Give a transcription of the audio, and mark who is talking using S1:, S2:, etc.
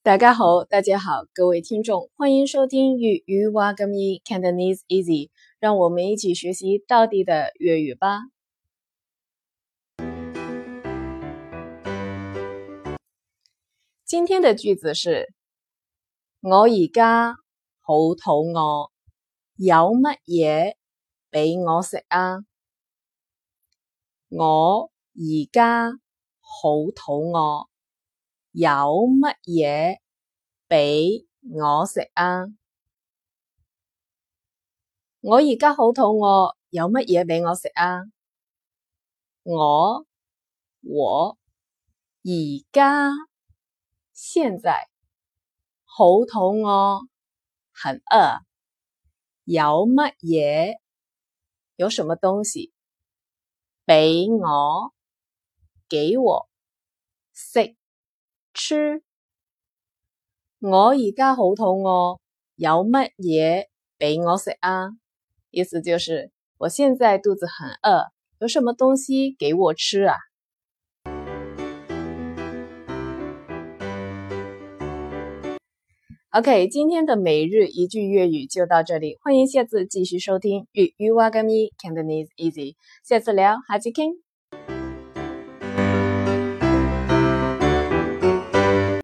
S1: 大家好，各位听众，欢迎收听粤语话咁易 Cantonese Easy， 让我们一起学习道地的粤语吧。今天的句子是：我而家好肚餓，有乜嘢俾我食啊？我而家好肚餓，有乜嘢俾我食啊？我而家好肚餓，有乜嘢俾我食啊？我而家現在好肚餓，很餓，有乜嘢？有什麼東西？俾我，給我，食，吃。我而家好肚餓，有乜嘢俾我食啊？意思就是我現在肚子很餓，有什麼東西給我吃啊？ OK， 今天的每日一句粵語就到這裡，歡迎下次繼續收聽粵語話咁易 Cantonese Easy， 下次聊，下次傾。